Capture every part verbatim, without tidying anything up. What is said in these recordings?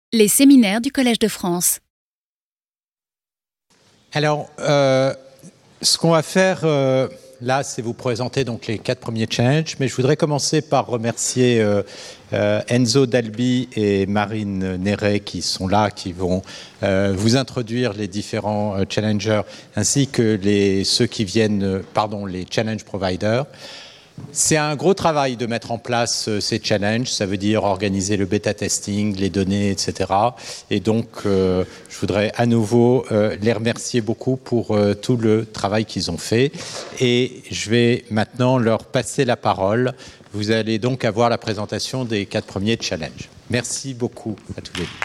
Les séminaires du Collège de France. Alors, euh, ce qu'on va faire euh, là, c'est vous présenter donc les quatre premiers challenges, mais je voudrais commencer par remercier euh, euh, Enzo Dalby et Marine Néret qui sont là, qui vont euh, vous introduire les différents euh, challengers, ainsi que les, ceux qui viennent, euh, pardon, les challenge providers. C'est un gros travail de mettre en place euh, ces challenges, ça veut dire organiser le bêta testing, les données, et cetera. Et donc, euh, je voudrais à nouveau euh, les remercier beaucoup pour euh, tout le travail qu'ils ont fait. Et je vais maintenant leur passer la parole. Vous allez donc avoir la présentation des quatre premiers challenges. Merci beaucoup à tous les deux.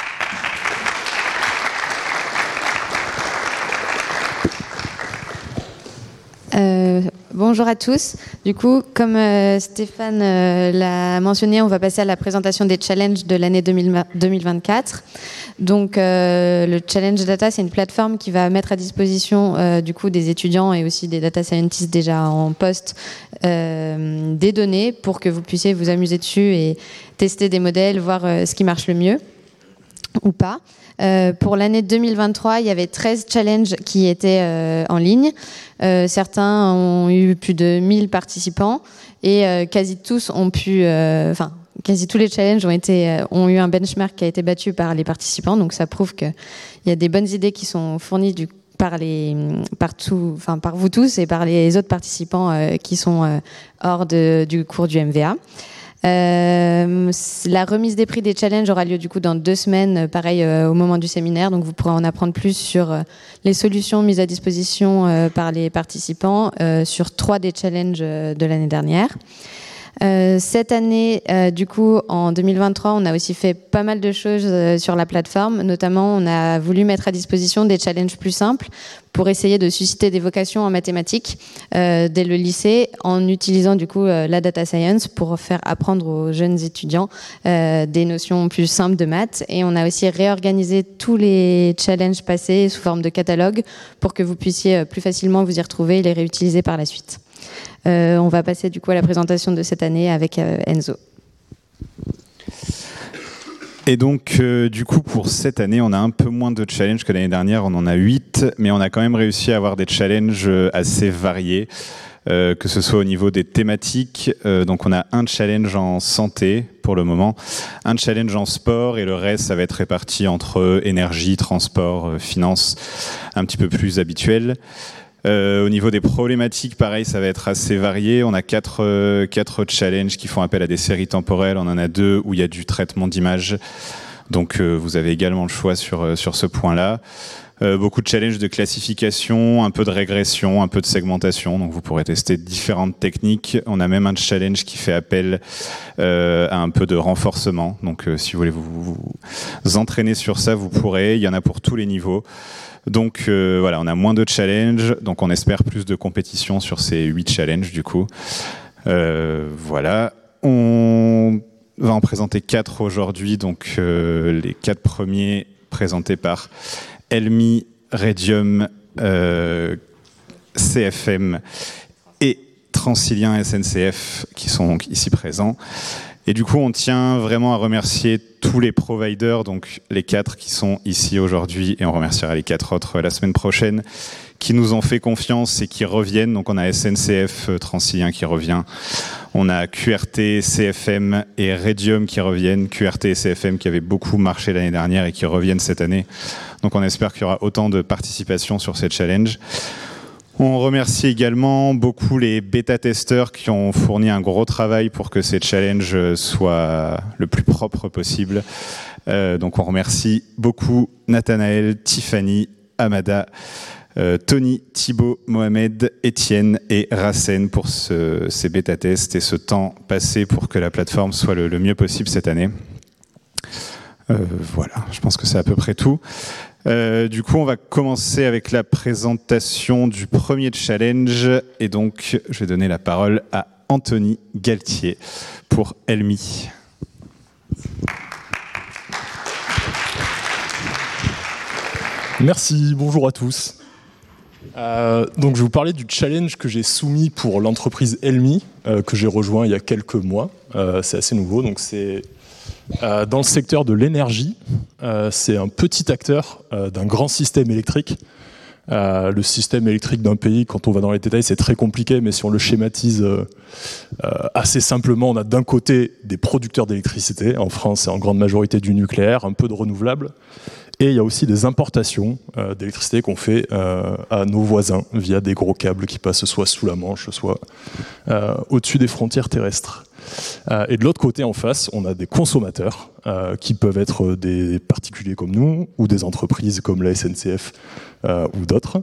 Euh, bonjour à tous. Du coup, comme euh, Stéphane euh, l'a mentionné, on va passer à la présentation des challenges de l'année deux mille vingt-quatre. Donc, euh, le Challenge Data, c'est une plateforme qui va mettre à disposition euh, du coup des étudiants et aussi des data scientists déjà en poste euh, des données pour que vous puissiez vous amuser dessus et tester des modèles, voir euh, ce qui marche le mieux ou pas. Euh, pour l'année deux mille vingt-trois, il y avait treize challenges qui étaient euh, en ligne. Euh, certains ont eu plus de mille participants et euh, quasi tous ont pu, enfin, euh, quasi tous les challenges ont été, euh, ont eu un benchmark qui a été battu par les participants. Donc ça prouve qu'il y a des bonnes idées qui sont fournies du, par les, par tout, enfin par vous tous et par les autres participants euh, qui sont euh, hors de, du cours du M V A. Euh, la remise des prix des challenges aura lieu du coup dans deux semaines, pareil euh, au moment du séminaire, donc vous pourrez en apprendre plus sur euh, les solutions mises à disposition euh, par les participants euh, sur trois des challenges euh, de l'année dernière. Euh, cette année, euh, du coup, en deux mille vingt-trois, on a aussi fait pas mal de choses euh, sur la plateforme. Notamment, on a voulu mettre à disposition des challenges plus simples pour essayer de susciter des vocations en mathématiques euh, dès le lycée, en utilisant du coup euh, la data science pour faire apprendre aux jeunes étudiants euh, des notions plus simples de maths. Et on a aussi réorganisé tous les challenges passés sous forme de catalogue pour que vous puissiez plus facilement vous y retrouver et les réutiliser par la suite. Euh, on va passer du coup à la présentation de cette année avec euh, Enzo. Et donc, euh, du coup, pour cette année, on a un peu moins de challenges que l'année dernière. On en a huit, mais on a quand même réussi à avoir des challenges assez variés, euh, que ce soit au niveau des thématiques. Euh, donc, on a un challenge en santé pour le moment, un challenge en sport, et le reste, ça va être réparti entre énergie, transport, euh, finance, un petit peu plus habituel. Euh, au niveau des problématiques, pareil, ça va être assez varié. On a quatre, euh, quatre challenges qui font appel à des séries temporelles. On en a deux où il y a du traitement d'images. Donc, euh, vous avez également le choix sur, euh, sur ce point-là. Euh, beaucoup de challenges de classification, un peu de régression, un peu de segmentation. Donc, vous pourrez tester différentes techniques. On a même un challenge qui fait appel euh, à un peu de renforcement. Donc, euh, si vous voulez vous, vous, vous entraîner sur ça, vous pourrez. Il y en a pour tous les niveaux. Donc euh, voilà, on a moins de challenges, donc on espère plus de compétition sur ces huit challenges du coup. Euh, voilà, on va en présenter quatre aujourd'hui, donc euh, les quatre premiers présentés par Elmi, Radium, euh, C F M et Transilien S N C F qui sont ici présents. Et du coup, on tient vraiment à remercier tous les providers, donc les quatre qui sont ici aujourd'hui, et on remerciera les quatre autres la semaine prochaine, qui nous ont fait confiance et qui reviennent. Donc on a S N C F Transilien qui revient, on a Q R T, C F M et Radium qui reviennent, Q R T et C F M qui avaient beaucoup marché l'année dernière et qui reviennent cette année. Donc on espère qu'il y aura autant de participation sur ces challenges. On remercie également beaucoup les bêta-testeurs qui ont fourni un gros travail pour que ces challenges soient le plus propre possible. Euh, donc on remercie beaucoup Nathanaël, Tiffany, Amada, euh, Tony, Thibaut, Mohamed, Étienne et Racine pour ce, ces bêta-tests et ce temps passé pour que la plateforme soit le, le mieux possible cette année. Euh, voilà, je pense que c'est à peu près tout. Euh, du coup, on va commencer avec la présentation du premier challenge. Et donc, je vais donner la parole à Anthony Galtier pour Elmi. Merci, bonjour à tous. Euh, donc, je vais vous parler du challenge que j'ai soumis pour l'entreprise Elmi, euh, que j'ai rejoint il y a quelques mois. Euh, c'est assez nouveau, donc c'est... Euh, dans le secteur de l'énergie, euh, c'est un petit acteur euh, d'un grand système électrique. Euh, le système électrique d'un pays, quand on va dans les détails, c'est très compliqué, mais si on le schématise euh, euh, assez simplement, on a d'un côté des producteurs d'électricité. En France, c'est en grande majorité du nucléaire, un peu de renouvelable. Et il y a aussi des importations euh, d'électricité qu'on fait euh, à nos voisins via des gros câbles qui passent soit sous la Manche, soit euh, au-dessus des frontières terrestres. Euh, et de l'autre côté, en face, on a des consommateurs euh, qui peuvent être des particuliers comme nous ou des entreprises comme la S N C F euh, ou d'autres.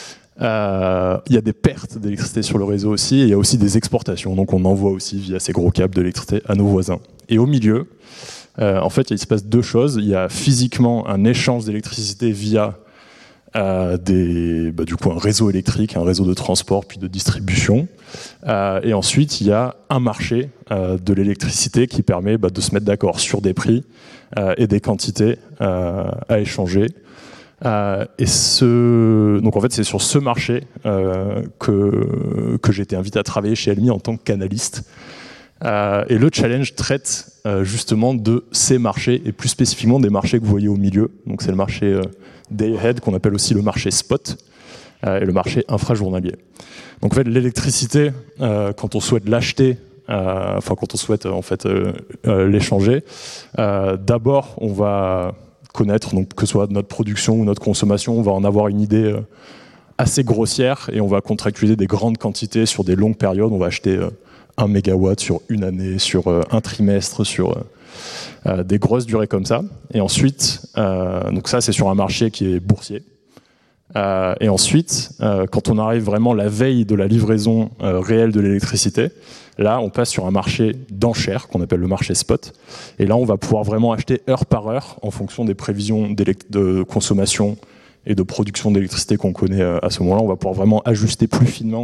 Euh, il y a des pertes d'électricité sur le réseau aussi, et il y a aussi des exportations. Donc on envoie aussi via ces gros câbles de l'électricité à nos voisins. Et au milieu, euh, en fait, il se passe deux choses. Il y a physiquement un échange d'électricité via Euh, des, bah, du coup un réseau électrique, un réseau de transport puis de distribution. Euh, et ensuite, il y a un marché euh, de l'électricité qui permet bah, de se mettre d'accord sur des prix euh, et des quantités euh, à échanger. Euh, et ce, donc en fait, c'est sur ce marché euh, que, que j'ai été invité à travailler chez Elmi en tant que canaliste. Euh, et le challenge traite euh, justement de ces marchés, et plus spécifiquement des marchés que vous voyez au milieu. Donc c'est le marché euh, day ahead, qu'on appelle aussi le marché spot, euh, et le marché infrajournalier. Donc en fait, l'électricité, euh, quand on souhaite l'acheter, euh, enfin quand on souhaite en fait euh, euh, l'échanger, euh, d'abord on va connaître, donc que ce soit notre production ou notre consommation, on va en avoir une idée euh, assez grossière, et on va contractualiser des grandes quantités sur des longues périodes. On va acheter euh, un mégawatt sur une année, sur euh, un trimestre, sur euh, euh, des grosses durées comme ça. Et ensuite, euh, donc ça c'est sur un marché qui est boursier. Euh, et ensuite, euh, quand on arrive vraiment la veille de la livraison euh, réelle de l'électricité, là on passe sur un marché d'enchères qu'on appelle le marché spot. Et là on va pouvoir vraiment acheter heure par heure en fonction des prévisions de consommation et de production d'électricité qu'on connaît euh, à ce moment-là. On va pouvoir vraiment ajuster plus finement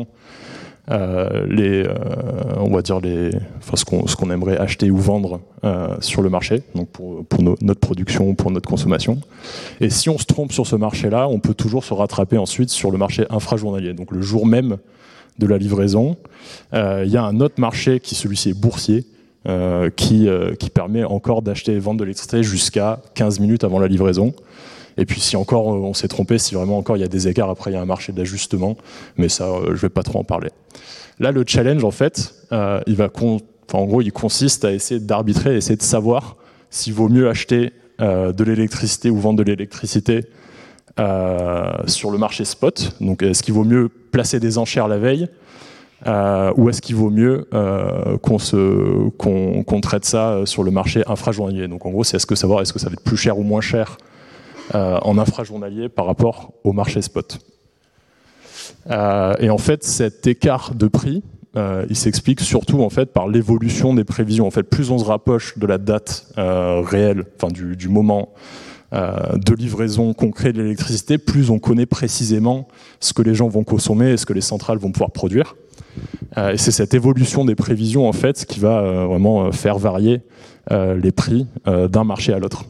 Euh, les, euh, on va dire les, enfin ce qu'on ce qu'on aimerait acheter ou vendre euh, sur le marché, donc pour, pour no, notre production, pour notre consommation. Et si on se trompe sur ce marché-là, on peut toujours se rattraper ensuite sur le marché infrajournalier. Donc le jour même de la livraison, euh, il y a un autre marché qui, celui-ci, est boursier, euh, qui, euh, qui permet encore d'acheter et vendre de l'électricité jusqu'à quinze minutes avant la livraison. Et puis si encore on s'est trompé, si vraiment encore il y a des écarts, après il y a un marché d'ajustement, mais ça euh, je vais pas trop en parler. Là le challenge en fait, euh, il va con... enfin, en gros il consiste à essayer d'arbitrer, essayer de savoir s'il vaut mieux acheter euh, de l'électricité ou vendre de l'électricité euh, sur le marché spot. Donc est-ce qu'il vaut mieux placer des enchères la veille euh, ou est-ce qu'il vaut mieux euh, qu'on se qu'on, qu'on traite ça sur le marché infrajournalier. Donc en gros c'est est-ce que savoir est-ce que ça va être plus cher ou moins cher Euh, en infrajournalier par rapport au marché spot. Euh, et en fait, cet écart de prix, euh, il s'explique surtout en fait par l'évolution des prévisions. En fait, plus on se rapproche de la date euh, réelle, enfin du, du moment euh, de livraison concret de l'électricité, plus on connaît précisément ce que les gens vont consommer et ce que les centrales vont pouvoir produire. Euh, et c'est cette évolution des prévisions en fait qui va euh, vraiment faire varier euh, les prix euh, d'un marché à l'autre.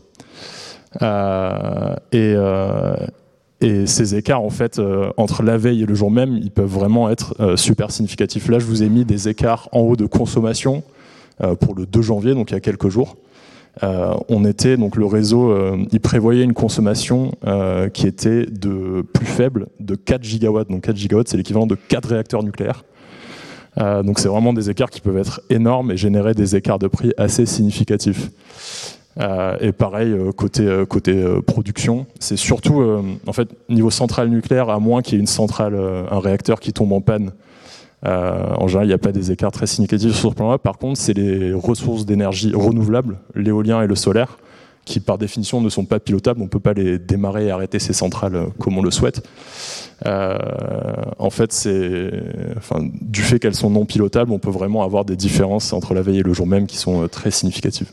Euh, et, euh, et ces écarts en fait euh, entre la veille et le jour même, ils peuvent vraiment être euh, super significatifs. Là je vous ai mis des écarts en haut de consommation euh, pour le deux janvier, donc il y a quelques jours. Euh, on était donc le réseau, euh, il prévoyait une consommation euh, qui était de plus faible, de quatre gigawatts. Donc quatre gigawatts, c'est l'équivalent de quatre réacteurs nucléaires. Euh, donc c'est vraiment des écarts qui peuvent être énormes et générer des écarts de prix assez significatifs. Euh, et pareil euh, côté euh, côté euh, production, c'est surtout euh, en fait niveau centrale nucléaire, à moins qu'il y ait une centrale, euh, un réacteur qui tombe en panne. Euh, en général, il n'y a pas des écarts très significatifs sur ce plan-là. Par contre, c'est les ressources d'énergie renouvelables, l'éolien et le solaire, qui par définition ne sont pas pilotables. On ne peut pas les démarrer et arrêter ces centrales euh, comme on le souhaite. Euh, en fait, c'est, enfin, du fait qu'elles sont non pilotables, on peut vraiment avoir des différences entre la veille et le jour même qui sont euh, très significatives.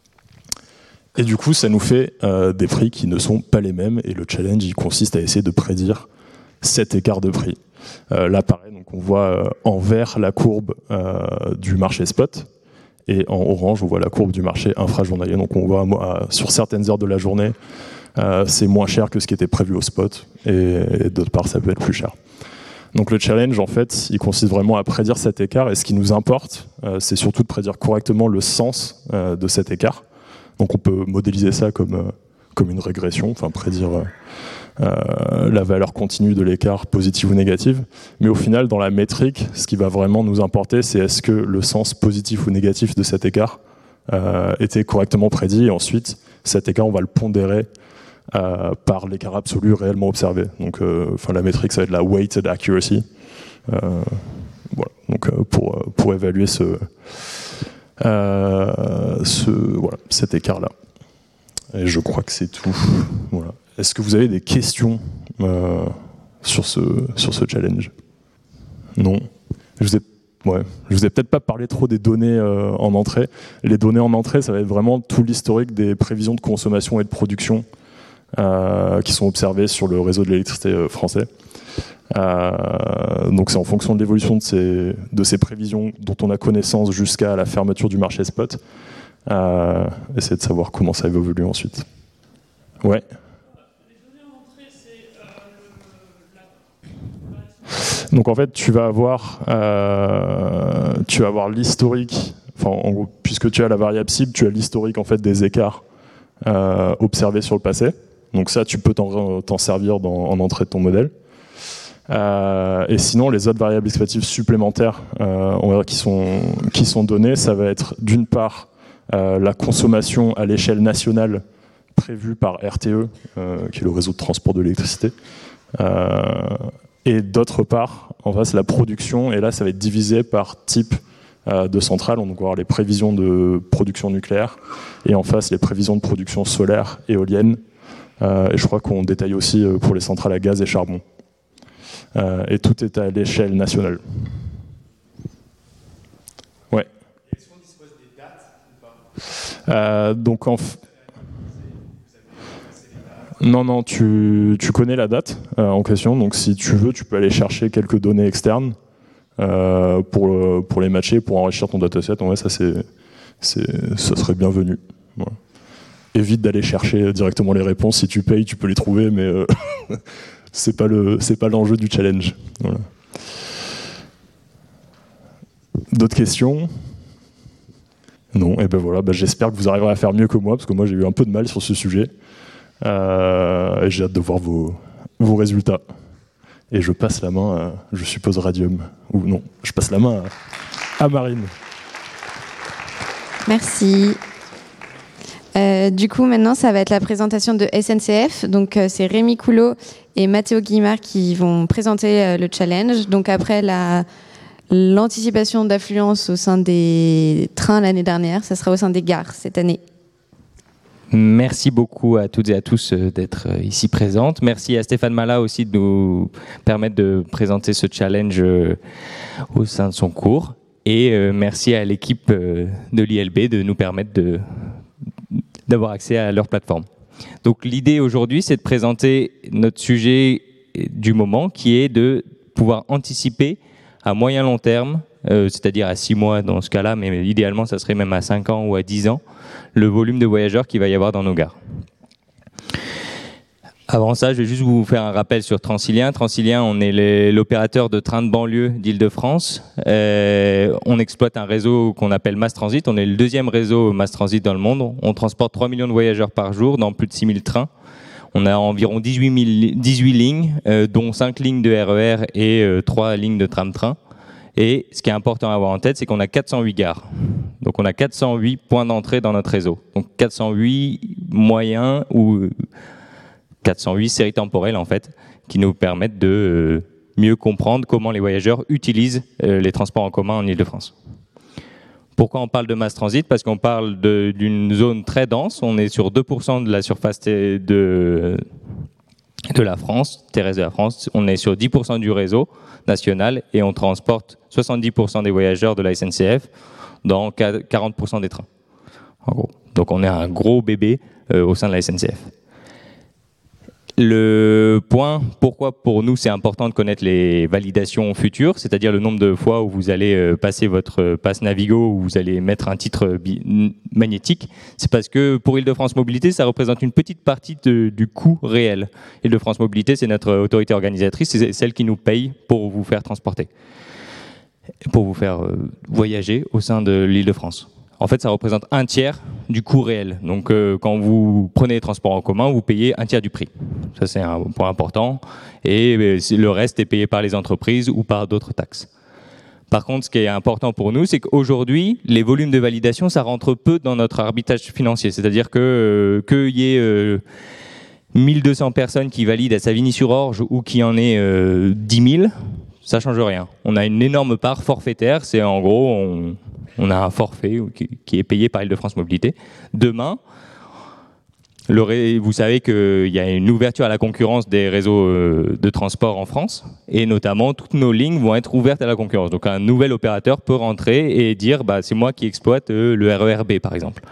Et du coup, ça nous fait euh, des prix qui ne sont pas les mêmes. Et le challenge, il consiste à essayer de prédire cet écart de prix. Euh, là, pareil, donc on voit euh, en vert la courbe euh, du marché spot. Et en orange, on voit la courbe du marché infrajournalier. Donc on voit euh, sur certaines heures de la journée, euh, c'est moins cher que ce qui était prévu au spot. Et, et d'autre part, ça peut être plus cher. Donc le challenge, en fait, il consiste vraiment à prédire cet écart. Et ce qui nous importe, euh, c'est surtout de prédire correctement le sens euh, de cet écart. Donc on peut modéliser ça comme, comme une régression, enfin prédire euh, la valeur continue de l'écart positive ou négative. Mais au final, dans la métrique, ce qui va vraiment nous importer, c'est est-ce que le sens positif ou négatif de cet écart euh, était correctement prédit. Et ensuite, cet écart, on va le pondérer euh, par l'écart absolu réellement observé. Donc, euh, enfin, la métrique, ça va être la weighted accuracy. Euh, voilà. Donc, euh, pour, pour évaluer ce, euh, ce, voilà, cet écart-là. Et je crois que c'est tout. Voilà. Est-ce que vous avez des questions euh, sur ce, sur ce challenge? Non. Je vous ai, ouais, je vous ai peut-être pas parlé trop des données euh, en entrée. Les données en entrée, ça va être vraiment tout l'historique des prévisions de consommation et de production euh, qui sont observées sur le réseau de l'électricité euh, français. Euh, donc c'est en fonction de l'évolution de ces, de ces prévisions dont on a connaissance jusqu'à la fermeture du marché spot. Euh, essayer de savoir comment ça va évoluer ensuite. Ouais. Donc en fait, tu vas avoir, euh, tu vas avoir l'historique. Enfin, en gros, puisque tu as la variable cible, tu as l'historique en fait des écarts euh, observés sur le passé. Donc ça, tu peux t'en, t'en servir dans, en entrée de ton modèle. Euh, et sinon, les autres variables expectatives supplémentaires, euh, on va dire qui sont qui sont données, ça va être d'une part Euh, la consommation à l'échelle nationale prévue par R T E, euh, qui est le réseau de transport de l'électricité, euh, et d'autre part, en face, la production, et là, ça va être divisé par type euh, de centrale. On va avoir les prévisions de production nucléaire, et en face, les prévisions de production solaire, éolienne, euh, et je crois qu'on détaille aussi euh, pour les centrales à gaz et charbon. Euh, et tout est à l'échelle nationale. Ouais. Euh, donc en f... Non, non, tu, tu connais la date euh, en question, donc si tu veux, tu peux aller chercher quelques données externes euh, pour, pour les matcher, pour enrichir ton dataset. En vrai, ça, c'est, c'est, ça serait bienvenu. Voilà. Évite d'aller chercher directement les réponses. Si tu payes, tu peux les trouver, mais euh, c'est pas le, c'est pas l'enjeu du challenge. Voilà. D'autres questions ? Non, et ben voilà, ben j'espère que vous arriverez à faire mieux que moi, parce que moi j'ai eu un peu de mal sur ce sujet. Euh, et j'ai hâte de voir vos, vos résultats. Et je passe la main à, je suppose, Radium. Ou non, je passe la main à, à Marine. Merci. Euh, du coup, maintenant, ça va être la présentation de S N C F. Donc, euh, c'est Rémi Coulot et Mathéo Guimard qui vont présenter euh, le challenge. Donc, après la... l'anticipation d'affluence au sein des trains l'année dernière, ça sera au sein des gares cette année. Merci beaucoup à toutes et à tous d'être ici présentes. Merci à Stéphane Mala aussi de nous permettre de présenter ce challenge au sein de son cours. Et merci à l'équipe de l'I L B de nous permettre de, d'avoir accès à leur plateforme. Donc l'idée aujourd'hui, c'est de présenter notre sujet du moment, qui est de pouvoir anticiper à moyen long terme, euh, c'est-à-dire à six mois dans ce cas-là, mais idéalement ça serait même à cinq ans ou à dix ans, le volume de voyageurs qu'il va y avoir dans nos gares. Avant ça, je vais juste vous faire un rappel sur Transilien. Transilien, on est les, l'opérateur de trains de banlieue d'Île-de-France. Euh, on exploite un réseau qu'on appelle Mass Transit. On est le deuxième réseau Mass Transit dans le monde. On transporte trois millions de voyageurs par jour dans plus de six mille trains. On a environ dix-huit, mille, dix-huit lignes, euh, dont cinq lignes de R E R et euh, trois lignes de tram-train. Et ce qui est important à avoir en tête, c'est qu'on a quatre cent huit gares. Donc on a quatre cent huit points d'entrée dans notre réseau. Donc quatre cent huit moyens ou quatre cent huit séries temporelles en fait, qui nous permettent de euh, mieux comprendre comment les voyageurs utilisent euh, les transports en commun en Île-de-France. Pourquoi on parle de mass transit? Parce qu'on parle de, d'une zone très dense. On est sur deux pour cent de la surface de, de la France, terrestre de la France. On est sur dix pour cent du réseau national et on transporte soixante-dix pour cent des voyageurs de la S N C F dans quarante pour cent des trains. En gros. Donc on est un gros bébé euh, au sein de la S N C F. Le point, pourquoi pour nous c'est important de connaître les validations futures, c'est-à-dire le nombre de fois où vous allez passer votre passe Navigo, où vous allez mettre un titre magnétique, c'est parce que pour Île-de-France Mobilité, ça représente une petite partie de, du coût réel. Île-de-France Mobilité, c'est notre autorité organisatrice, c'est celle qui nous paye pour vous faire transporter, pour vous faire voyager au sein de l'Île-de-France. en fait, ça représente un tiers du coût réel. Donc, euh, quand vous prenez les transports en commun, vous payez un tiers du prix. Ça, c'est un point important. Et euh, le reste est payé par les entreprises ou par d'autres taxes. Par contre, ce qui est important pour nous, c'est qu'aujourd'hui, les volumes de validation, ça rentre peu dans notre arbitrage financier. C'est-à-dire que euh, qu'il y ait euh, mille deux cents personnes qui valident à Savigny-sur-Orge ou qu'il y en ait euh, dix mille, ça ne change rien. On a une énorme part forfaitaire. C'est en gros, on, on a un forfait qui, qui est payé par Île-de-France Mobilité. Demain, le ré, vous savez qu'il y a une ouverture à la concurrence des réseaux euh, de transport en France, et notamment toutes nos lignes vont être ouvertes à la concurrence. Donc un nouvel opérateur peut rentrer et dire bah, c'est moi qui exploite euh, le R E R B par exemple.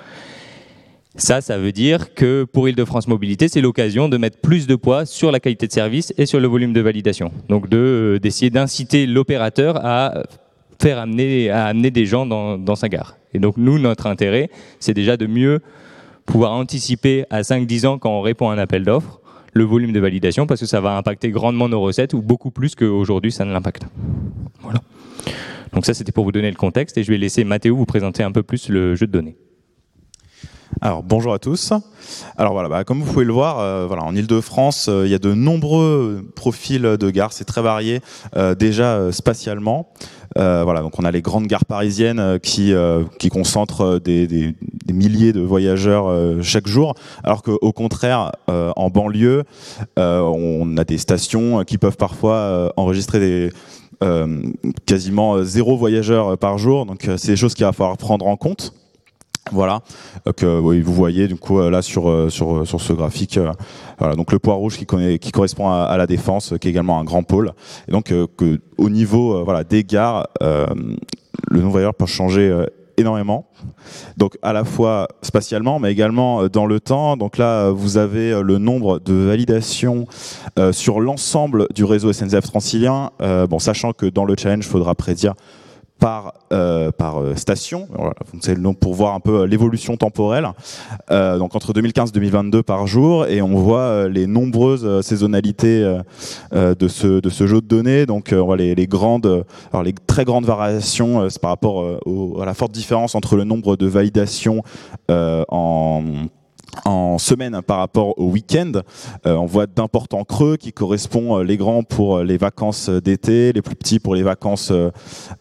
Ça, ça veut dire que pour Île-de-France Mobilité, c'est l'occasion de mettre plus de poids sur la qualité de service et sur le volume de validation. Donc de, euh, d'essayer d'inciter l'opérateur à faire amener, à amener des gens dans, dans sa gare. Et donc nous, notre intérêt, c'est déjà de mieux pouvoir anticiper à cinq dix ans quand on répond à un appel d'offres le volume de validation, parce que ça va impacter grandement nos recettes, ou beaucoup plus qu'aujourd'hui ça ne l'impacte. Voilà. Donc ça, c'était pour vous donner le contexte, et je vais laisser Mathéo vous présenter un peu plus le jeu de données. Alors bonjour à tous. Alors voilà, bah, comme vous pouvez le voir, euh, voilà, en Île-de-France, euh, il y a de nombreux profils de gares, c'est très varié euh, déjà euh, spatialement. Euh, voilà, donc on a les grandes gares parisiennes euh, qui euh, qui concentrent des, des, des milliers de voyageurs euh, chaque jour, alors qu'au contraire, euh, en banlieue, euh, on a des stations qui peuvent parfois euh, enregistrer des euh, quasiment zéro voyageurs par jour. Donc c'est des choses qu'il va falloir prendre en compte. Voilà, que oui, vous voyez du coup là sur sur sur ce graphique, euh, voilà, donc le point rouge qui, connaît, qui correspond à, à la Défense, qui est également un grand pôle, et donc euh, que au niveau euh, voilà des gares, euh, le nombre de voyageurs peut changer euh, énormément, donc à la fois spatialement, mais également dans le temps. Donc là, vous avez le nombre de validations euh, sur l'ensemble du réseau S N C F Transilien, euh, bon, sachant que dans le challenge, il faudra prédire par euh, par station. Voilà, c'est le nom pour voir un peu l'évolution temporelle. Euh, donc entre deux mille quinze et deux mille vingt-deux par jour, et on voit les nombreuses saisonnalités euh, de ce de ce jeu de données. Donc on voit les, les grandes, alors les très grandes variations, c'est par rapport au, à la forte différence entre le nombre de validations euh, en en semaine par rapport au week-end. Euh, on voit d'importants creux qui correspondent, les grands pour les vacances d'été, les plus petits pour les vacances euh,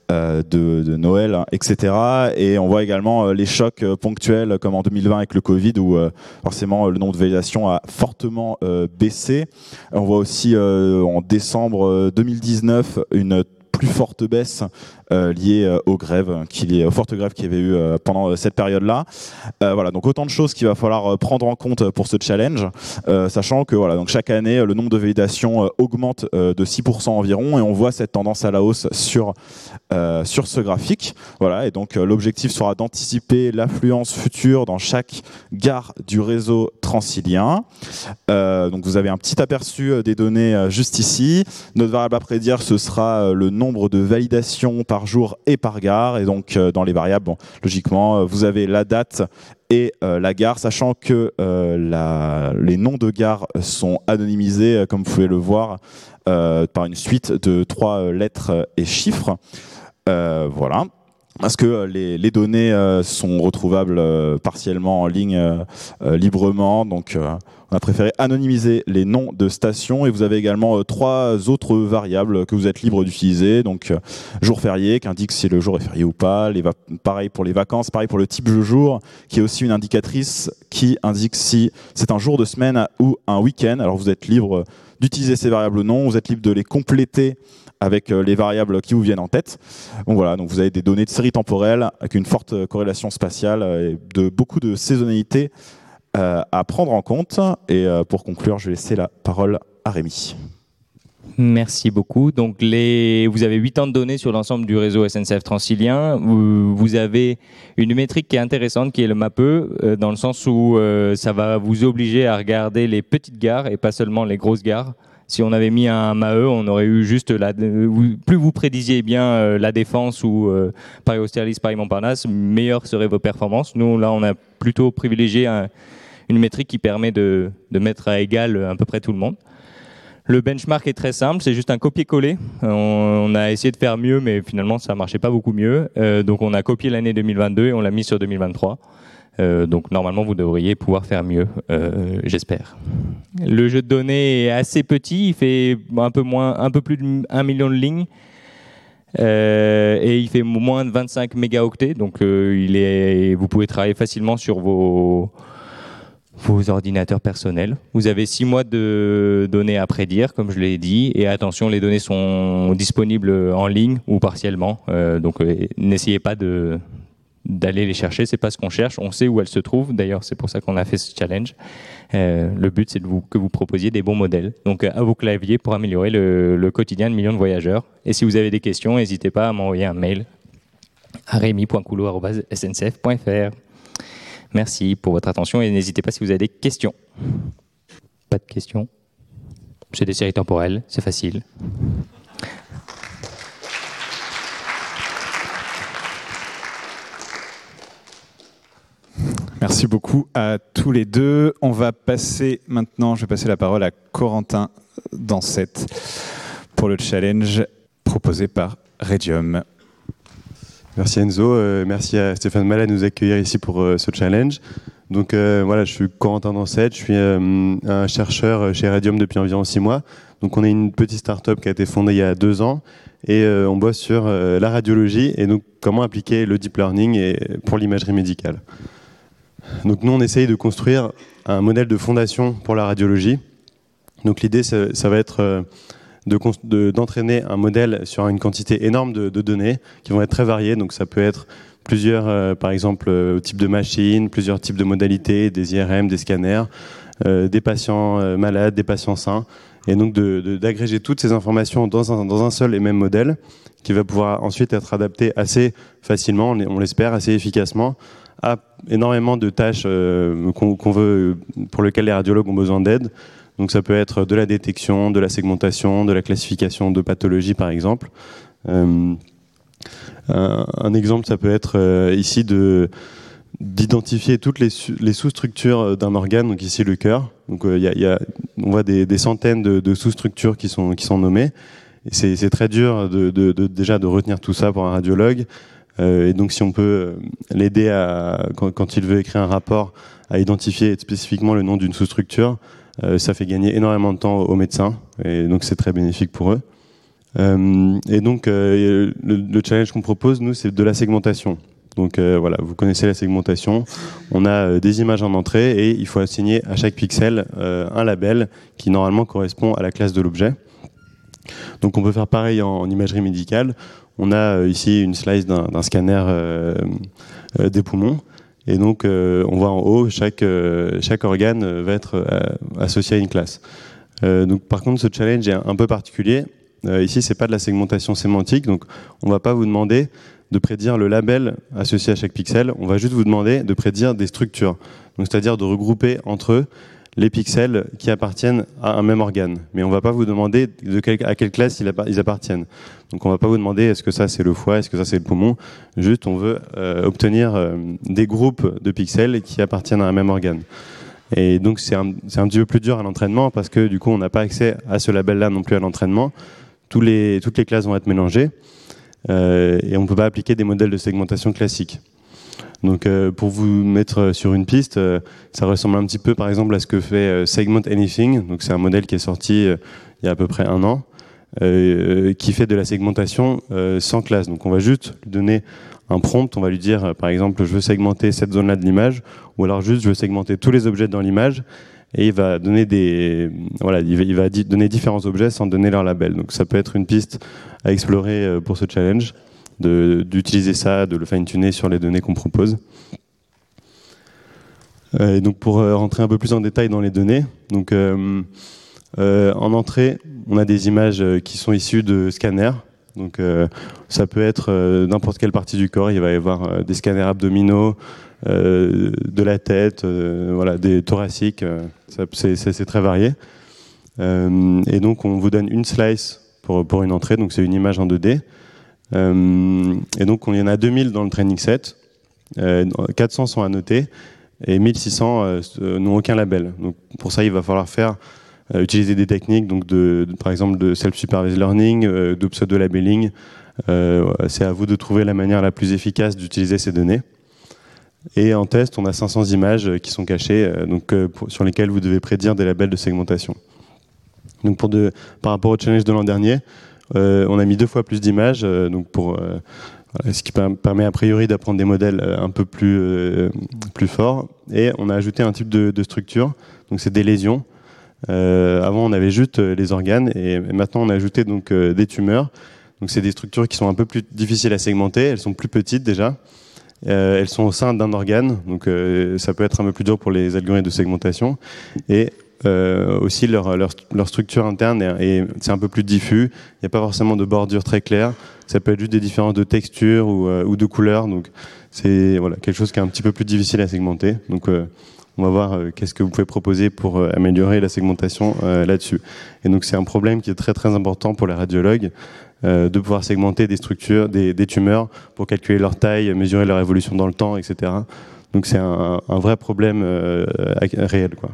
de, de Noël, hein, et cetera. Et on voit également les chocs ponctuels comme en deux mille vingt avec le Covid, où euh, forcément le nombre de validations a fortement euh, baissé. On voit aussi euh, en décembre deux mille dix-neuf une plus forte baisse euh, liée euh, aux grèves, qu'il y ait, aux fortes grèves qu'il y avait eu euh, pendant euh, cette période-là. Euh, voilà, donc autant de choses qu'il va falloir euh, prendre en compte pour ce challenge, euh, sachant que voilà, donc chaque année le nombre de validations euh, augmente euh, de six pour cent environ, et on voit cette tendance à la hausse sur euh, sur ce graphique. Voilà, et donc euh, l'objectif sera d'anticiper l'affluence future dans chaque gare du réseau transilien. Euh, donc vous avez un petit aperçu des données euh, juste ici. Notre variable à prédire, ce sera euh, le nombre de validations par jour et par gare, et donc euh, dans les variables, bon, logiquement, euh, vous avez la date et euh, la gare, sachant que euh, la, les noms de gares sont anonymisés, euh, comme vous pouvez le voir, euh, par une suite de trois euh, lettres et chiffres. Euh, voilà. Parce que les, les données euh, sont retrouvables euh, partiellement en ligne euh, euh, librement, donc euh, on a préféré anonymiser les noms de stations, et vous avez également euh, trois autres variables que vous êtes libre d'utiliser, donc euh, jour férié qui indique si le jour est férié ou pas, les pareil pour les vacances, pareil pour le type de jour, qui est aussi une indicatrice qui indique si c'est un jour de semaine ou un week-end. Alors vous êtes libre d'utiliser ces variables ou non, vous êtes libre de les compléter avec les variables qui vous viennent en tête. Donc voilà, donc vous avez des données de série temporelle avec une forte corrélation spatiale et de beaucoup de saisonnalité euh, à prendre en compte. Et euh, pour conclure, je vais laisser la parole à Rémi. Merci beaucoup. Donc les, vous avez huit ans de données sur l'ensemble du réseau S N C F Transilien. Vous, vous avez une métrique qui est intéressante, qui est le MAPE, euh, dans le sens où euh, ça va vous obliger à regarder les petites gares et pas seulement les grosses gares. Si on avait mis un M A E, on aurait eu juste la, plus vous prédisiez bien euh, la Défense ou euh, Paris-Austerlitz, Paris-Montparnasse, meilleures seraient vos performances. Nous, là, on a plutôt privilégié un, une métrique qui permet de, de mettre à égal à peu près tout le monde. Le benchmark est très simple, c'est juste un copier-coller. On, on a essayé de faire mieux, mais finalement ça marchait pas beaucoup mieux. Euh, donc on a copié l'année deux mille vingt-deux et on l'a mis sur deux mille vingt-trois. Euh, donc normalement vous devriez pouvoir faire mieux, euh, j'espère. Le jeu de données est assez petit, il fait un peu moins, un peu plus d'un million de lignes. Euh, et il fait moins de vingt-cinq mégaoctets, donc euh, il est, vous pouvez travailler facilement sur vos, vos ordinateurs personnels. Vous avez six mois de données à prédire, comme je l'ai dit, et attention, les données sont disponibles en ligne ou partiellement, euh, donc euh, n'essayez pas de, d'aller les chercher, c'est pas ce qu'on cherche, on sait où elles se trouvent, d'ailleurs c'est pour ça qu'on a fait ce challenge. Euh, le but c'est de vous, que vous proposiez des bons modèles, donc à vos claviers pour améliorer le, le quotidien de millions de voyageurs. Et si vous avez des questions, n'hésitez pas à m'envoyer un mail à rémi point coulot arobase s n c f point f r. Merci pour votre attention et n'hésitez pas si vous avez des questions. Pas de questions? C'est des séries temporelles, c'est facile. Merci beaucoup à tous les deux. On va passer maintenant, je vais passer la parole à Corentin Dansette pour le challenge proposé par Redium. Merci Enzo, euh, merci à Stéphane Mallet de nous accueillir ici pour euh, ce challenge. Donc euh, voilà, je suis Corentin Dansette, je suis euh, un chercheur chez Redium depuis environ six mois. Donc on est une petite start-up qui a été fondée il y a deux ans et euh, on bosse sur euh, la radiologie et donc comment appliquer le deep learning et, pour l'imagerie médicale. Donc nous, on essaye de construire un modèle de fondation pour la radiologie. Donc l'idée, ça, ça va être de, de, d'entraîner un modèle sur une quantité énorme de, de données qui vont être très variées. Donc ça peut être plusieurs, euh, par exemple, euh, types de machines, plusieurs types de modalités, des I R M, des scanners, euh, des patients euh, malades, des patients sains. Et donc de, de, d'agréger toutes ces informations dans un, dans un seul et même modèle qui va pouvoir ensuite être adapté assez facilement, on l'espère, assez efficacement, à énormément de tâches euh, qu'on, qu'on veut, pour lesquelles les radiologues ont besoin d'aide. Donc ça peut être de la détection, de la segmentation, de la classification de pathologies par exemple. Euh, un, un exemple, ça peut être euh, ici de, d'identifier toutes les, les sous-structures d'un organe, donc ici le cœur. Donc euh, y a, y a, on voit des, des centaines de, de sous-structures qui sont, qui sont nommées. Et c'est, c'est très dur de, de, de, déjà de retenir tout ça pour un radiologue. Euh, et donc si on peut l'aider à, quand, quand il veut écrire un rapport, à identifier spécifiquement le nom d'une sous-structure, euh, ça fait gagner énormément de temps aux médecins et donc c'est très bénéfique pour eux. Euh, et donc euh, le, le challenge qu'on propose, nous, c'est de la segmentation. Donc euh, voilà, vous connaissez la segmentation. On a euh, des images en entrée et il faut assigner à chaque pixel euh, un label qui normalement correspond à la classe de l'objet. Donc on peut faire pareil en, en imagerie médicale. On a euh, ici une slice d'un, d'un scanner euh, euh, des poumons. Et donc, euh, on voit en haut, chaque, euh, chaque organe va être euh, associé à une classe. Euh, donc, par contre, ce challenge est un peu particulier. Euh, ici, c'est pas de la segmentation sémantique. Donc, on va pas vous demander de prédire le label associé à chaque pixel. On va juste vous demander de prédire des structures. Donc, c'est-à-dire de regrouper entre eux les pixels qui appartiennent à un même organe. Mais on ne va pas vous demander de quel, à quelle classe ils appartiennent. Donc on ne va pas vous demander est-ce que ça c'est le foie, est-ce que ça c'est le poumon. Juste on veut euh, obtenir euh, des groupes de pixels qui appartiennent à un même organe. Et donc c'est un, c'est un petit peu plus dur à l'entraînement parce que du coup on n'a pas accès à ce label-là non plus à l'entraînement. Tous les, toutes les classes vont être mélangées euh, et on ne peut pas appliquer des modèles de segmentation classiques. Donc euh, pour vous mettre sur une piste, euh, ça ressemble un petit peu par exemple à ce que fait euh, Segment Anything. Donc c'est un modèle qui est sorti euh, il y a à peu près un an, euh, qui fait de la segmentation euh, sans classe. Donc on va juste lui donner un prompt, on va lui dire euh, par exemple je veux segmenter cette zone-là de l'image, ou alors juste je veux segmenter tous les objets dans l'image, et il va donner des voilà, il va, il va donner différents objets sans donner leur label. Donc ça peut être une piste à explorer euh, pour ce challenge. De, d'utiliser ça, de le fine-tuner sur les données qu'on propose. Euh, et donc pour euh, rentrer un peu plus en détail dans les données, donc, euh, euh, en entrée, on a des images euh, qui sont issues de scanners. Donc, euh, ça peut être euh, n'importe quelle partie du corps. Il va y avoir euh, des scanners abdominaux, euh, de la tête, euh, voilà, des thoraciques. Euh, ça, c'est, c'est, c'est très varié. Euh, et donc on vous donne une slice pour, pour une entrée. Donc c'est une image en deux D. Euh, et donc, il y en a deux mille dans le training set, euh, quatre cents sont annotés et mille six cents euh, n'ont aucun label. Donc, pour ça, il va falloir faire euh, utiliser des techniques, donc de, de, par exemple de self-supervised learning, euh, de pseudo-labeling. Euh, c'est à vous de trouver la manière la plus efficace d'utiliser ces données. Et en test, on a cinq cents images qui sont cachées, euh, donc, euh, pour, sur lesquelles vous devez prédire des labels de segmentation. Donc pour de, par rapport au challenge de l'an dernier, euh, on a mis deux fois plus d'images, euh, donc pour, euh, voilà, ce qui permet a priori d'apprendre des modèles un peu plus, euh, plus forts. Et on a ajouté un type de, de structure, donc c'est des lésions. Euh, avant, on avait juste les organes, et, et maintenant on a ajouté donc, euh, des tumeurs. Donc c'est des structures qui sont un peu plus difficiles à segmenter, elles sont plus petites déjà. Euh, elles sont au sein d'un organe, donc euh, ça peut être un peu plus dur pour les algorithmes de segmentation. Et euh, aussi leur, leur, leur structure interne, est, est, c'est un peu plus diffus. Il n'y a pas forcément de bordure très claire. Ça peut être juste des différences de texture ou, euh, ou de couleur. Donc c'est voilà, quelque chose qui est un petit peu plus difficile à segmenter. Donc euh, on va voir euh, qu'est-ce que vous pouvez proposer pour euh, améliorer la segmentation euh, là-dessus. Et donc c'est un problème qui est très très important pour les radiologues. Euh, de pouvoir segmenter des structures, des, des tumeurs pour calculer leur taille, mesurer leur évolution dans le temps, et cetera. Donc c'est un, un vrai problème euh, réel, quoi.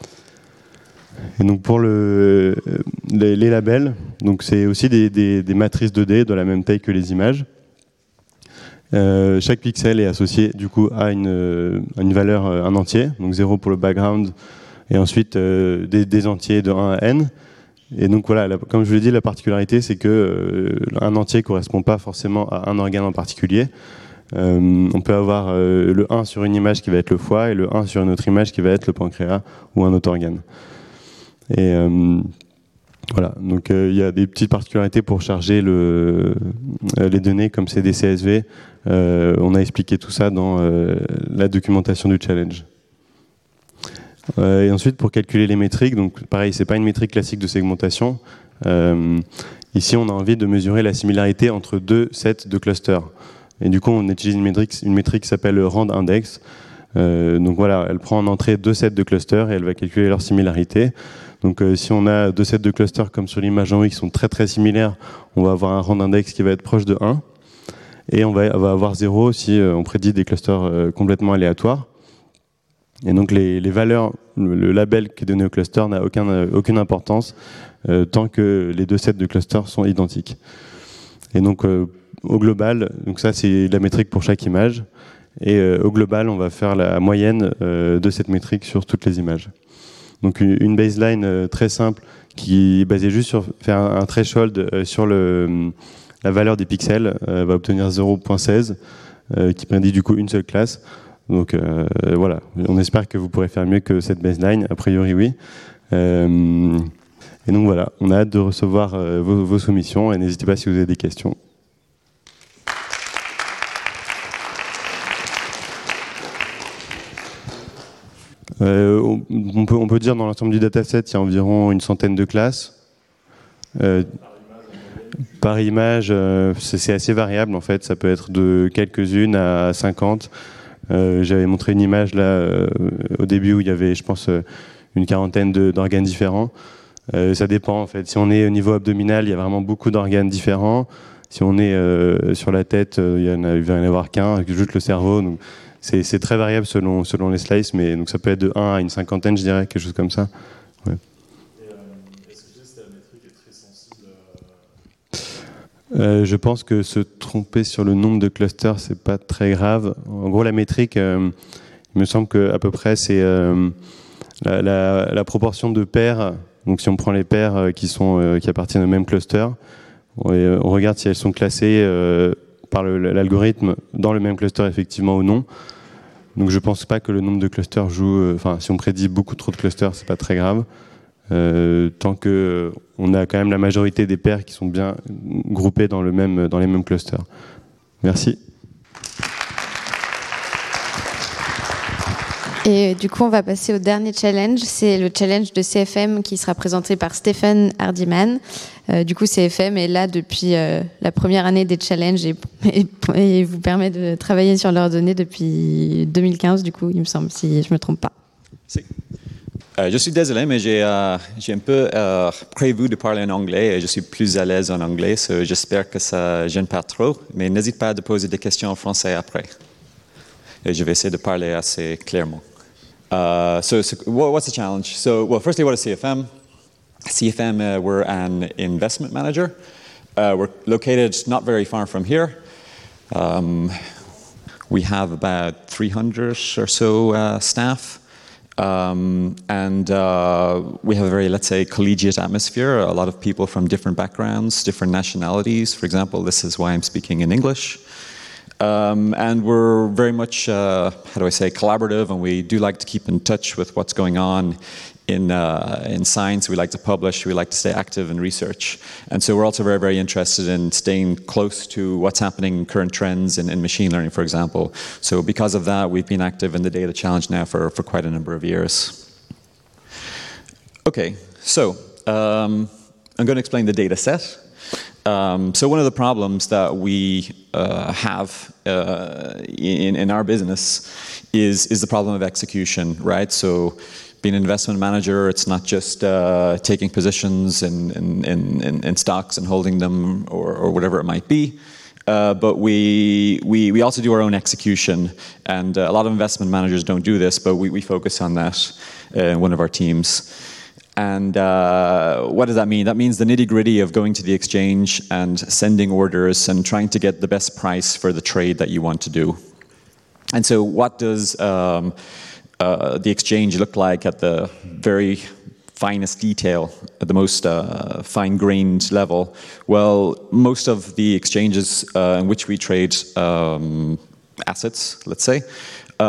Et donc pour le, les, les labels, donc c'est aussi des, des, des matrices deux D de la même taille que les images. Euh, chaque pixel est associé du coup à une, à une valeur, un entier, donc zéro pour le background, et ensuite euh, des, des entiers de un à n. Et donc voilà, la, comme je vous l'ai dit, la particularité, c'est que euh, un entier ne correspond pas forcément à un organe en particulier. Euh, on peut avoir euh, le un sur une image qui va être le foie et le un sur une autre image qui va être le pancréas ou un autre organe. Et euh, voilà, donc il euh, y a des petites particularités pour charger le, euh, les données comme c'est des C S V. Euh, on a expliqué tout ça dans euh, la documentation du challenge. Euh, et ensuite, pour calculer les métriques, donc pareil, c'est pas une métrique classique de segmentation. Euh, ici, on a envie de mesurer la similarité entre deux sets de clusters. Et du coup, on utilise une métrique, une métrique qui s'appelle le rand index. Euh, donc voilà, elle prend en entrée deux sets de clusters et elle va calculer leur similarité. Donc euh, si on a deux sets de clusters comme sur l'image en haut qui sont très très similaires, on va avoir un rand index qui va être proche de un. Et on va, on va avoir zéro si euh, on prédit des clusters euh, complètement aléatoires. Et donc les, les valeurs, le, le label qui est donné au cluster n'a aucun, euh, aucune importance euh, tant que les deux sets de clusters sont identiques. Et donc euh, au global, donc ça c'est la métrique pour chaque image, et euh, au global on va faire la moyenne euh, de cette métrique sur toutes les images. Donc une baseline euh, très simple qui est basée juste sur faire un, un threshold euh, sur le, la valeur des pixels euh, va obtenir zéro virgule seize euh, qui prédit du coup une seule classe. Donc euh, voilà, on espère que vous pourrez faire mieux que cette baseline, a priori oui. Euh, et donc voilà, on a hâte de recevoir euh, vos, vos soumissions et n'hésitez pas si vous avez des questions. Euh, on, on, peut, on peut dire dans l'ensemble du dataset, il y a environ une centaine de classes. Euh, par image, euh, c'est assez variable en fait, ça peut être de quelques-unes à cinquante. Euh, J'avais montré une image là euh, au début où il y avait, je pense, euh, une quarantaine d'organes différents. Euh, ça dépend en fait. Si on est au niveau abdominal, il y a vraiment beaucoup d'organes différents. Si on est euh, sur la tête, euh, il, y en a, il va y en avoir qu'un, juste le cerveau. C'est très variable selon, selon les slices, mais donc ça peut être de un à une cinquantaine, je dirais, quelque chose comme ça. Ouais. Est-ce que juste la métrique est très sensible à... euh, Je pense que se tromper sur le nombre de clusters, c'est pas très grave. En gros, la métrique, euh, il me semble qu'à peu près, c'est euh, la, la, la proportion de paires. Donc si on prend les paires qui, sont, euh, qui appartiennent au même cluster, on, on regarde si elles sont classées euh, par l'algorithme dans le même cluster effectivement ou non. Donc je pense pas que le nombre de clusters joue. Enfin, euh, si on prédit beaucoup trop de clusters, c'est pas très grave. Euh, tant que euh, on a quand même la majorité des paires qui sont bien groupées dans le même dans les mêmes clusters. Merci. Et du coup, on va passer au dernier challenge. C'est le challenge de C F M qui sera présenté par Stéphane Hardiman. Euh, du coup, C F M est là depuis euh, la première année des challenges et, et, et vous permet de travailler sur leurs données depuis deux mille quinze, du coup, il me semble, si je ne me trompe pas. Si. Euh, je suis désolé, mais j'ai euh, un peu euh, prévu de parler en anglais et je suis plus à l'aise en anglais, so j'espère que ça ne gêne pas trop. Mais n'hésite pas à poser des questions en français après. Et je vais essayer de parler assez clairement. Uh, so, so, what's the challenge? So, well, firstly, what is C F M? C F M, uh, we're an investment manager. Uh, we're located not very far from here. Um, we have about three hundred or so uh, staff. Um, and uh, we have a very, let's say, collegiate atmosphere. A lot of people from different backgrounds, different nationalities. For example, this is why I'm speaking in English. Um, and we're very much, uh, how do I say, collaborative, and we do like to keep in touch with what's going on in, uh, in science. We like to publish, we like to stay active in research. And so we're also very, very interested in staying close to what's happening in current trends in, in machine learning, for example. So because of that, we've been active in the Data Challenge now for, for quite a number of years. Okay, so um, I'm going to explain the data set. Um, so one of the problems that we uh, have uh, in, in our business is, is the problem of execution, right? So being an investment manager, it's not just uh, taking positions in, in, in, in stocks and holding them or, or whatever it might be. Uh, but we, we, we also do our own execution. And uh, a lot of investment managers don't do this, but we, we focus on that uh, in one of our teams. And uh, what does that mean? That means the nitty-gritty of going to the exchange and sending orders and trying to get the best price for the trade that you want to do. And so what does um, uh, the exchange look like at the very finest detail, at the most uh, fine-grained level? Well, most of the exchanges uh, in which we trade um, assets, let's say, uh,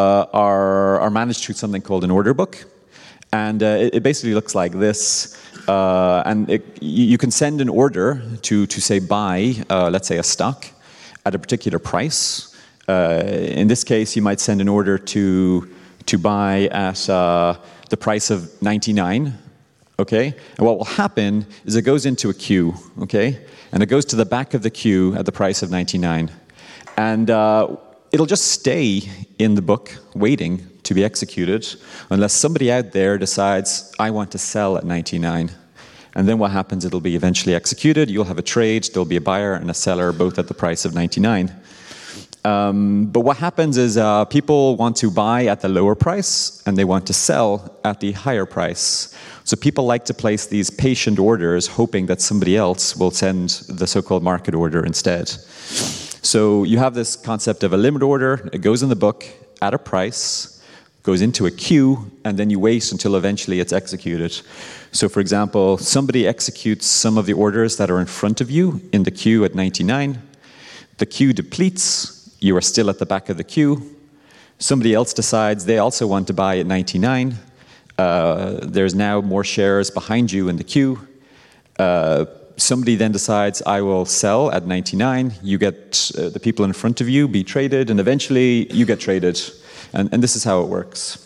are, are managed through something called an order book. And uh, it, it basically looks like this. Uh, and it, you can send an order to, to say, buy, uh, let's say, a stock at a particular price. Uh, in this case, you might send an order to, to buy at uh, the price of ninety-nine. Okay? And what will happen is it goes into a queue. Okay? And it goes to the back of the queue at the price of ninety-nine. And uh, it'll just stay in the book waiting to be executed unless somebody out there decides, I want to sell at ninety-nine. And then what happens, it'll be eventually executed. You'll have a trade. There'll be a buyer and a seller, both at the price of ninety-nine. Um, but what happens is uh, people want to buy at the lower price and they want to sell at the higher price. So people like to place these patient orders hoping that somebody else will send the so-called market order instead. So you have this concept of a limit order. It goes in the book at a price, goes into a queue, and then you wait until eventually it's executed. So for example, somebody executes some of the orders that are in front of you in the queue at ninety-nine. The queue depletes. You are still at the back of the queue. Somebody else decides they also want to buy at ninety-nine. Uh, there's now more shares behind you in the queue. Uh, somebody then decides, I will sell at ninety-nine. You get uh, the people in front of you be traded, and eventually you get traded. And, and this is how it works.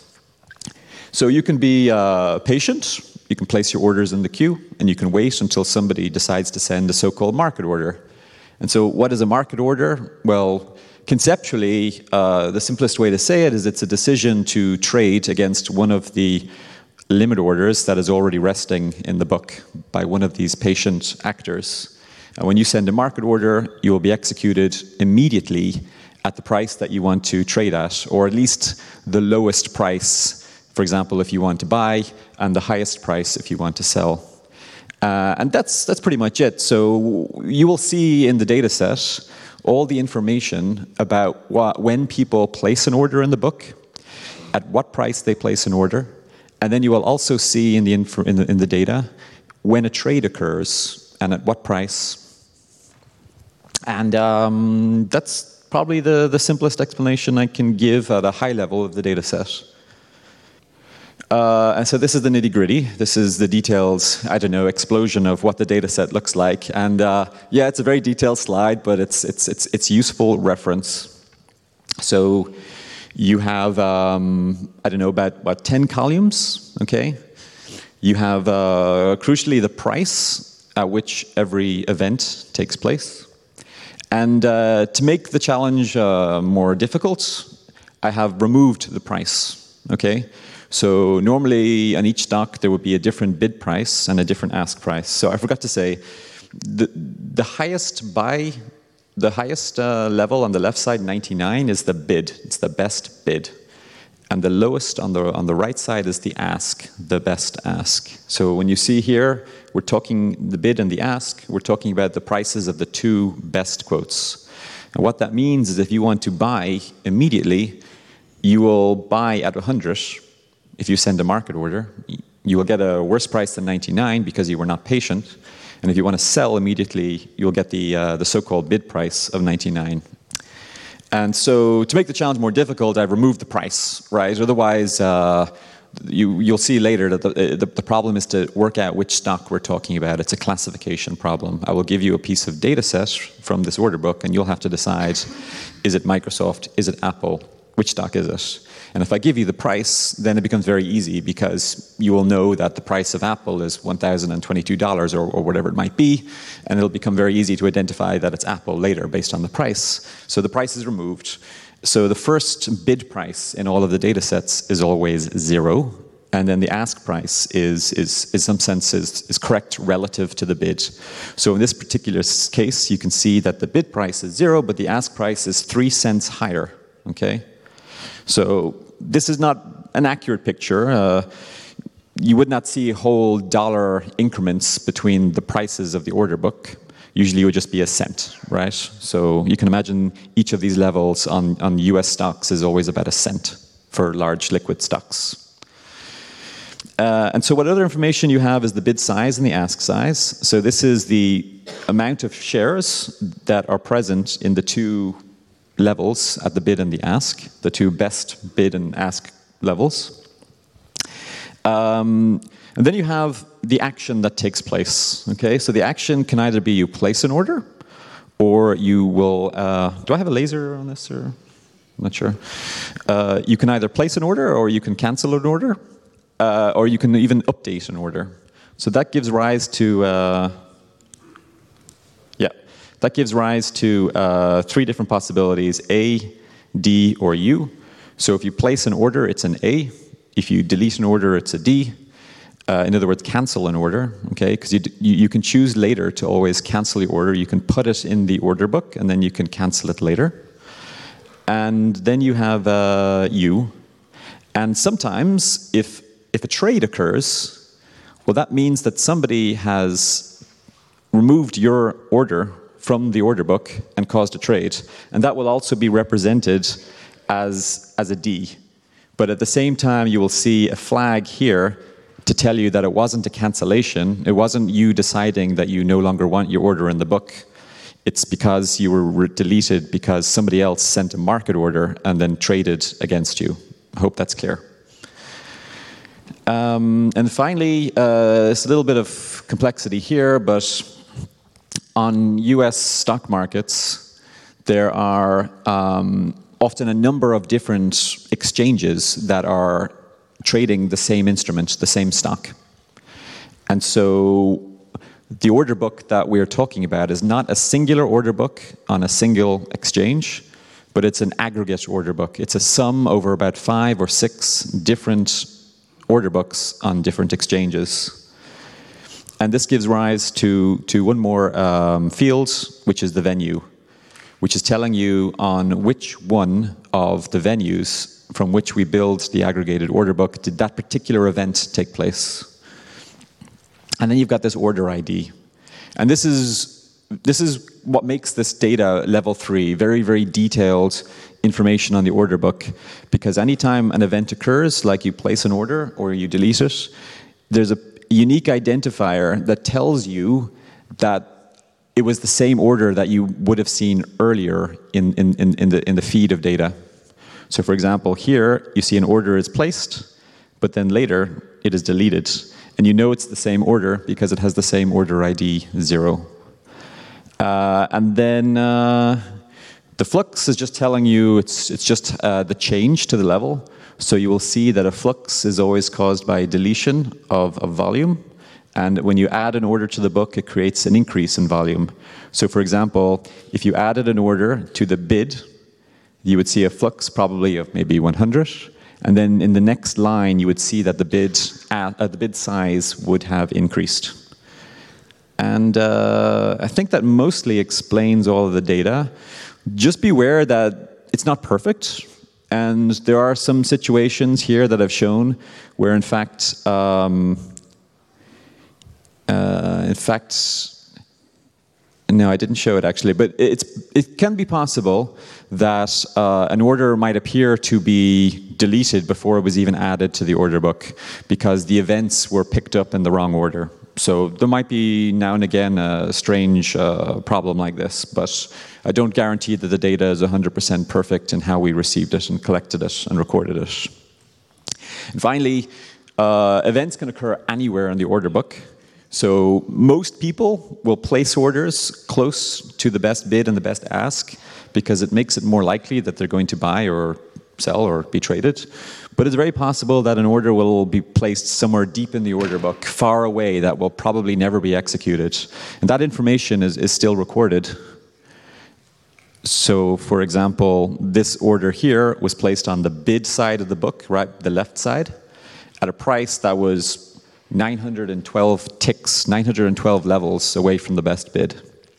So you can be uh, patient. You can place your orders in the queue, and you can wait until somebody decides to send a so-called market order. And so what is a market order? Well, conceptually, uh, the simplest way to say it is it's a decision to trade against one of the limit orders that is already resting in the book by one of these patient actors. And when you send a market order, you will be executed immediately at the price that you want to trade at, or at least the lowest price, for example, if you want to buy, and the highest price if you want to sell. Uh, and that's, that's pretty much it. So you will see in the data set all the information about what, when people place an order in the book, at what price they place an order, and then you will also see in the, info, in the, in the data when a trade occurs and at what price. And um, that's probably the, the simplest explanation I can give at a high level of the data set. Uh, and so this is the nitty-gritty. This is the details, I don't know, explosion of what the data set looks like. And uh, yeah, it's a very detailed slide, but it's, it's, it's, it's useful reference. So you have, um, I don't know, about, about ten columns, okay? You have, uh, crucially, the price at which every event takes place. And uh, to make the challenge uh, more difficult, I have removed the price, okay? So normally on each stock there would be a different bid price and a different ask price. So I forgot to say, the, the highest buy, the highest uh, level on the left side, ninety-nine, is the bid. It's the best bid. And the lowest on the, on the right side is the ask, the best ask. So when you see here, we're talking the bid and the ask, we're talking about the prices of the two best quotes. And what that means is if you want to buy immediately, you will buy at one hundred. If you send a market order, you will get a worse price than ninety-nine because you were not patient. And if you want to sell immediately, you'll get the, uh, the so-called bid price of ninety-nine. And so to make the challenge more difficult, I've removed the price, right? Otherwise, uh, you, you'll see later that the, the, the problem is to work out which stock we're talking about. It's a classification problem. I will give you a piece of data set from this order book, and you'll have to decide, is it Microsoft, is it Apple, which stock is it? And if I give you the price, then it becomes very easy because you will know that the price of Apple is one thousand twenty-two dollars or, or whatever it might be, and it'll become very easy to identify that it's Apple later based on the price. So the price is removed. So the first bid price in all of the data sets is always zero, and then the ask price is, is in some sense, is, is correct relative to the bid. So in this particular case, you can see that the bid price is zero, but the ask price is three cents higher, okay? So this is not an accurate picture. Uh, you would not see whole dollar increments between the prices of the order book. Usually it would just be a cent, right? So you can imagine each of these levels on, on U S stocks is always about a cent for large liquid stocks. Uh, and so what other information you have is the bid size and the ask size. So this is the amount of shares that are present in the two levels at the bid and the ask, the two best bid and ask levels. Um, and then you have the action that takes place, okay? So the action can either be you place an order, or you will, uh, do I have a laser on this, or? I'm not sure. Uh, you can either place an order, or you can cancel an order, uh, or you can even update an order. So that gives rise to, uh, That gives rise to uh, three different possibilities, A, D, or U. So if you place an order, it's an A. If you delete an order, it's a D. Uh, in other words, cancel an order, okay? Because you, you, you can choose later to always cancel the order. You can put it in the order book, and then you can cancel it later. And then you have uh, U. And sometimes, if, if a trade occurs, well, that means that somebody has removed your order from the order book and caused a trade. And that will also be represented as, as a D. But at the same time, you will see a flag here to tell you that it wasn't a cancellation. It wasn't you deciding that you no longer want your order in the book. It's because you were deleted because somebody else sent a market order and then traded against you. I hope that's clear. Um, and finally, uh, it's a little bit of complexity here, but on U S stock markets, there are um, often a number of different exchanges that are trading the same instrument, the same stock. And so the order book that we're talking about is not a singular order book on a single exchange, but it's an aggregate order book. It's a sum over about five or six different order books on different exchanges. And this gives rise to, to one more um, field, which is the venue, which is telling you on which one of the venues from which we build the aggregated order book did that particular event take place. And then you've got this order I D. And this is, this is what makes this data level three, very, very detailed information on the order book, because anytime an event occurs, like you place an order or you delete it, there's a unique identifier that tells you that it was the same order that you would have seen earlier in, in, in, in, the, in the feed of data. So for example, here you see an order is placed, but then later it is deleted. And you know it's the same order because it has the same order I D, zero. Uh, and then uh, the flux is just telling you it's, it's just uh, the change to the level. So you will see that a flux is always caused by deletion of, of volume. And when you add an order to the book, it creates an increase in volume. So for example, if you added an order to the bid, you would see a flux probably of maybe one hundred. And then in the next line, you would see that the bid, uh, the bid size would have increased. And uh, I think that mostly explains all of the data. Just beware that it's not perfect. And there are some situations here that I've shown where, in fact, um, uh, in fact, no, I didn't show it actually, but it's, it can be possible that uh, an order might appear to be deleted before it was even added to the order book because the events were picked up in the wrong order. So there might be now and again a strange uh, problem like this, but I don't guarantee that the data is one hundred percent perfect in how we received it and collected it and recorded it. And finally, uh, events can occur anywhere in the order book. So most people will place orders close to the best bid and the best ask because it makes it more likely that they're going to buy or sell or be traded. But it's very possible that an order will be placed somewhere deep in the order book, far away, that will probably never be executed. And that information is, is still recorded. So, for example, this order here was placed on the bid side of the book, right, the left side, at a price that was nine hundred twelve ticks, nine hundred twelve levels away from the best bid.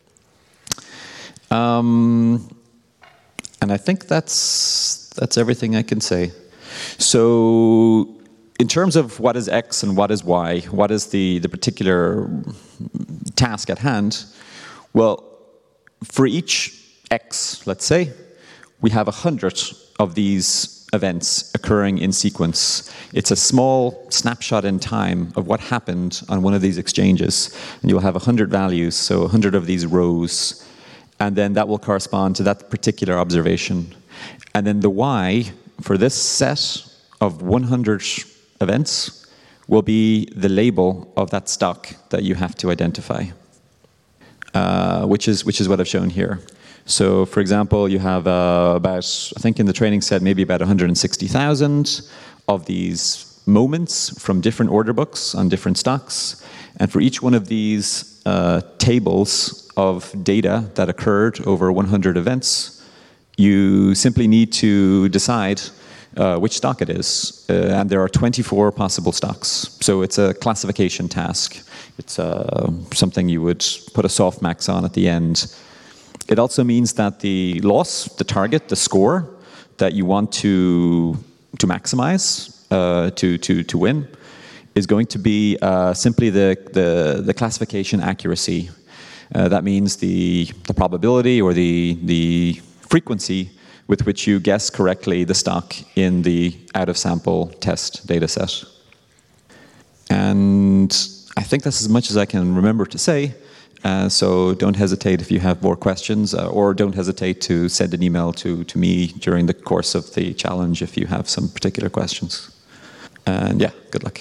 Um, and I think that's, that's everything I can say. So in terms of what is X and what is Y, what is the, the particular task at hand, well, for each X, let's say, we have a hundred of these events occurring in sequence. It's a small snapshot in time of what happened on one of these exchanges. And you'll have a hundred values, so a hundred of these rows. And then that will correspond to that particular observation. And then the Y for this set of one hundred events will be the label of that stock that you have to identify, uh, which is which is what I've shown here. So, for example, you have uh, about, I think in the training set, maybe about one hundred sixty thousand of these moments from different order books on different stocks. And for each one of these uh, tables of data that occurred over one hundred events, you simply need to decide uh, which stock it is. Uh, and there are twenty-four possible stocks. So it's a classification task. It's uh, something you would put a softmax on at the end. It also means that the loss, the target, the score that you want to, to maximize, uh, to, to, to win, is going to be uh, simply the, the, the classification accuracy. Uh, that means the, the probability or the, the frequency with which you guess correctly the stock in the out-of-sample test data set. And I think that's as much as I can remember to say. Uh, so don't hesitate if you have more questions, uh, or don't hesitate to send an email to, to me during the course of the challenge if you have some particular questions. And yeah, good luck.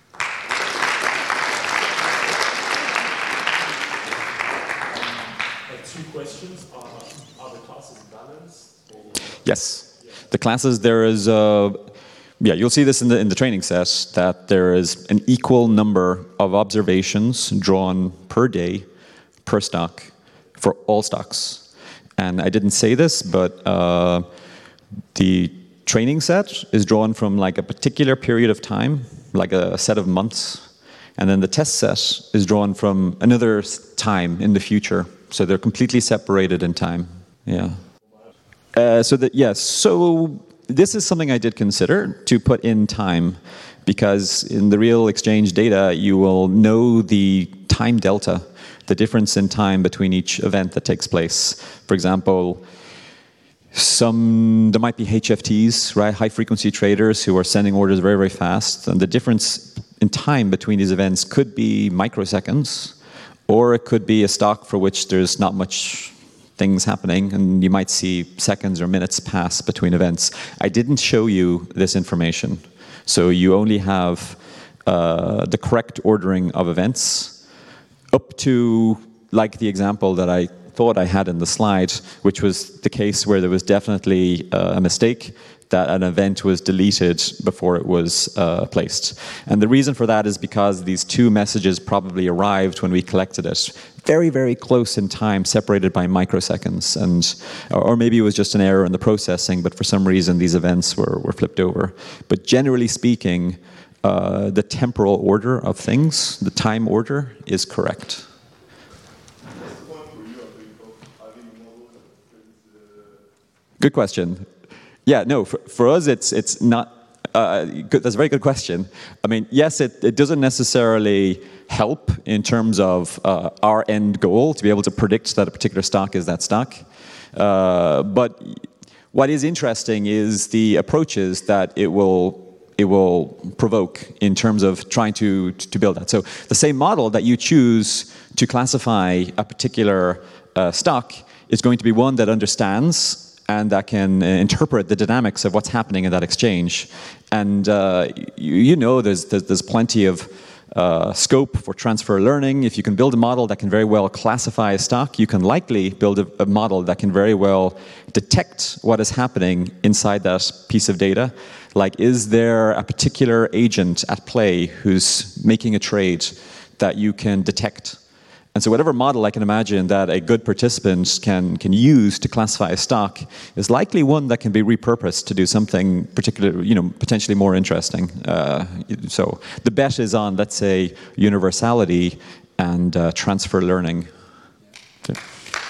Two questions. Are, are the classes balanced? Or? Yes. The classes, there is, uh, yeah, you'll see this in the, in the training set, that there is an equal number of observations drawn per day, per stock, for all stocks. And I didn't say this, but uh, the training set is drawn from like a particular period of time, like a set of months. And then the test set is drawn from another time in the future. So they're completely separated in time. Yeah. Uh, so that, yes, so this is something I did consider to put in time, because in the real exchange data, you will know the time delta, the difference in time between each event that takes place. For example, some there might be H F Ts, right, high frequency traders who are sending orders very, very fast, and the difference in time between these events could be microseconds, or it could be a stock for which there's not much things happening, and you might see seconds or minutes pass between events. I didn't show you this information, so you only have uh, the correct ordering of events up to, like the example that I thought I had in the slide, which was the case where there was definitely uh, a mistake, that an event was deleted before it was uh, placed. And the reason for that is because these two messages probably arrived when we collected it, very, very close in time, separated by microseconds. And, or maybe it was just an error in the processing, but for some reason these events were, were flipped over. But generally speaking, uh, the temporal order of things, the time order, is correct. Good question. Yeah, no, for, for us, it's it's not. Uh, good, that's a very good question. I mean, yes, it, it doesn't necessarily help in terms of uh, our end goal to be able to predict that a particular stock is that stock. Uh, but what is interesting is the approaches that it will it will provoke in terms of trying to to build that. So the same model that you choose to classify a particular uh, stock is going to be one that understands and that can uh, interpret the dynamics of what's happening in that exchange. And uh, you, you know there's, there's, there's plenty of uh, scope for transfer learning. If you can build a model that can very well classify a stock, you can likely build a, a model that can very well detect what is happening inside that piece of data. Like, is there a particular agent at play who's making a trade that you can detect? And so whatever model I can imagine that a good participant can, can use to classify a stock is likely one that can be repurposed to do something particular, you know, potentially more interesting. Uh, so the bet is on, let's say, universality and uh, transfer learning. Okay.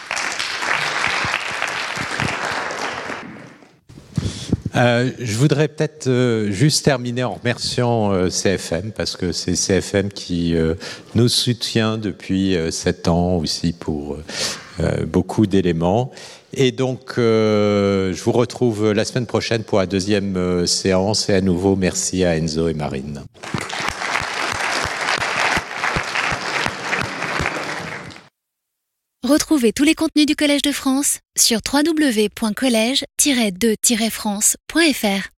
Euh, je voudrais peut-être euh, juste terminer en remerciant euh, C F M, parce que c'est C F M qui euh, nous soutient depuis euh, sept ans aussi pour euh, beaucoup d'éléments. Et donc, euh, je vous retrouve la semaine prochaine pour la deuxième euh, séance. Et à nouveau, merci à Enzo et Marine. Retrouvez tous les contenus du Collège de France sur w w w point collège tiret de tiret france point f r.